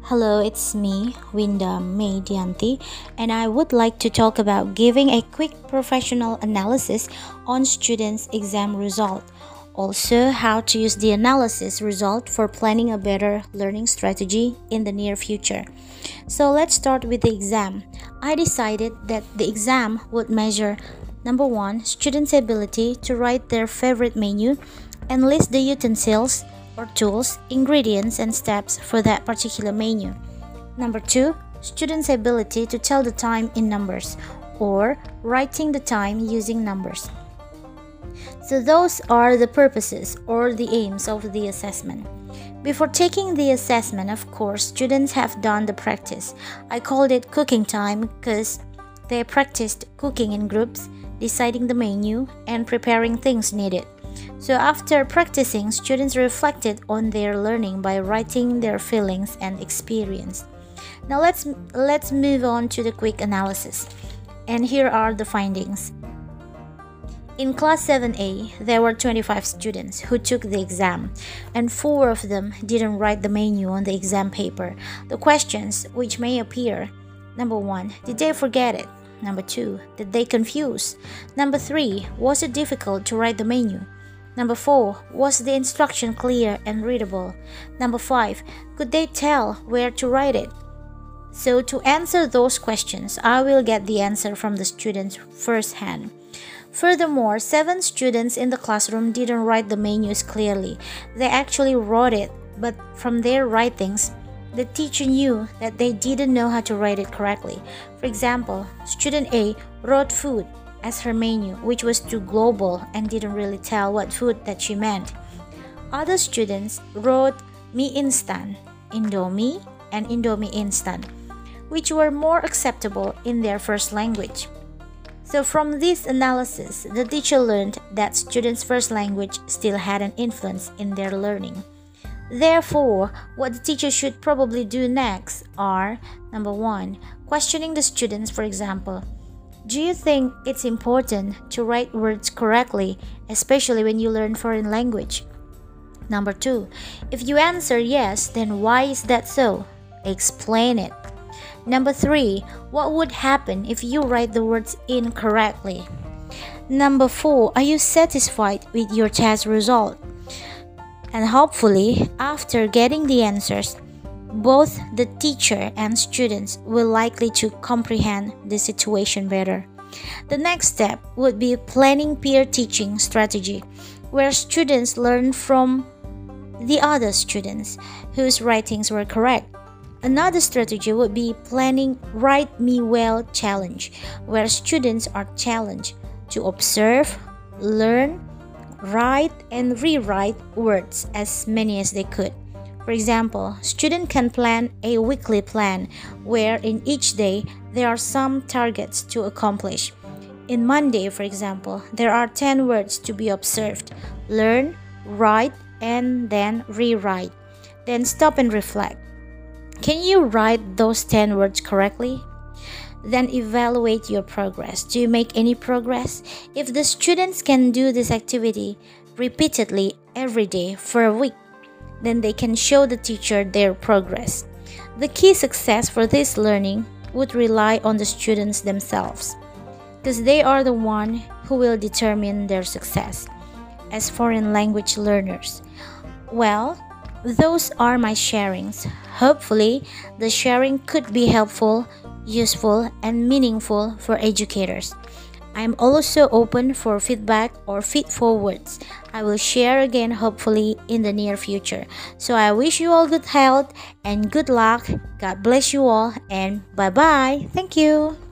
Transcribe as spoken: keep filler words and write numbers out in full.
Hello, it's me, Winda May Dianti, and I would like to talk about giving a quick professional analysis on students' exam result. Also, how to use the analysis result for planning a better learning strategy in the near future. So let's start with the exam. I decided that the exam would measure number one, students' ability to write their favorite menu and list the utensils or tools, ingredients, and steps for that particular menu. Number two, students' ability to tell the time in numbers or writing the time using numbers. So those are the purposes or the aims of the assessment. Before taking the assessment, of course, students have done the practice. I called it cooking time because they practiced cooking in groups, deciding the menu, and preparing things needed. So after practicing, students reflected on their learning by writing their feelings and experience. Now let's let's move on to the quick analysis. And here are the findings. In class seven A, there were twenty-five students who took the exam, and four of them didn't write the menu on the exam paper. The questions which may appear: number one, did they forget it? Number two, did they confuse? Number three, was it difficult to write the menu? Number four, was the instruction clear and readable? Number five, could they tell where to write it? So to answer those questions, I will get the answer from the students firsthand. Furthermore, seven students in the classroom didn't write the menus clearly. They actually wrote it, but from their writings, the teacher knew that they didn't know how to write it correctly. For example, student A wrote food as her menu, which was too global and didn't really tell what food that she meant. Other students wrote mie instan, Indomie, and Indomie instant, which were more acceptable in their first language. So from this analysis, the teacher learned that students' first language still had an influence in their learning. Therefore, what the teacher should probably do next are: number one, questioning the students. For example, do you think it's important to write words correctly, especially when you learn foreign language? Number two, if you answer yes, then why is that so? Explain it. Number three, what would happen if you write the words incorrectly? Number four, are you satisfied with your test result? And hopefully, after getting the answers, both the teacher and students will likely to comprehend the situation better. The next step would be planning peer teaching strategy, where students learn from the other students whose writings were correct. Another strategy would be planning Write Me Well challenge, where students are challenged to observe, learn, write, and rewrite words as many as they could. For example, students can plan a weekly plan where in each day there are some targets to accomplish. In Monday, for example, there are ten words to be observed, learn, write, and then rewrite. Then stop and reflect. Can you write those ten words correctly? Then evaluate your progress. Do you make any progress? If the students can do this activity repeatedly every day for a week, then they can show the teacher their progress. The key success for this learning would rely on the students themselves, because they are the one who will determine their success as foreign language learners. Well, those are my sharings. Hopefully, the sharing could be helpful, useful, and meaningful for educators. I am also open for feedback or feed forwards. I will share again hopefully in the near future. So I wish you all good health and good luck. God bless you all, and bye bye. Thank you.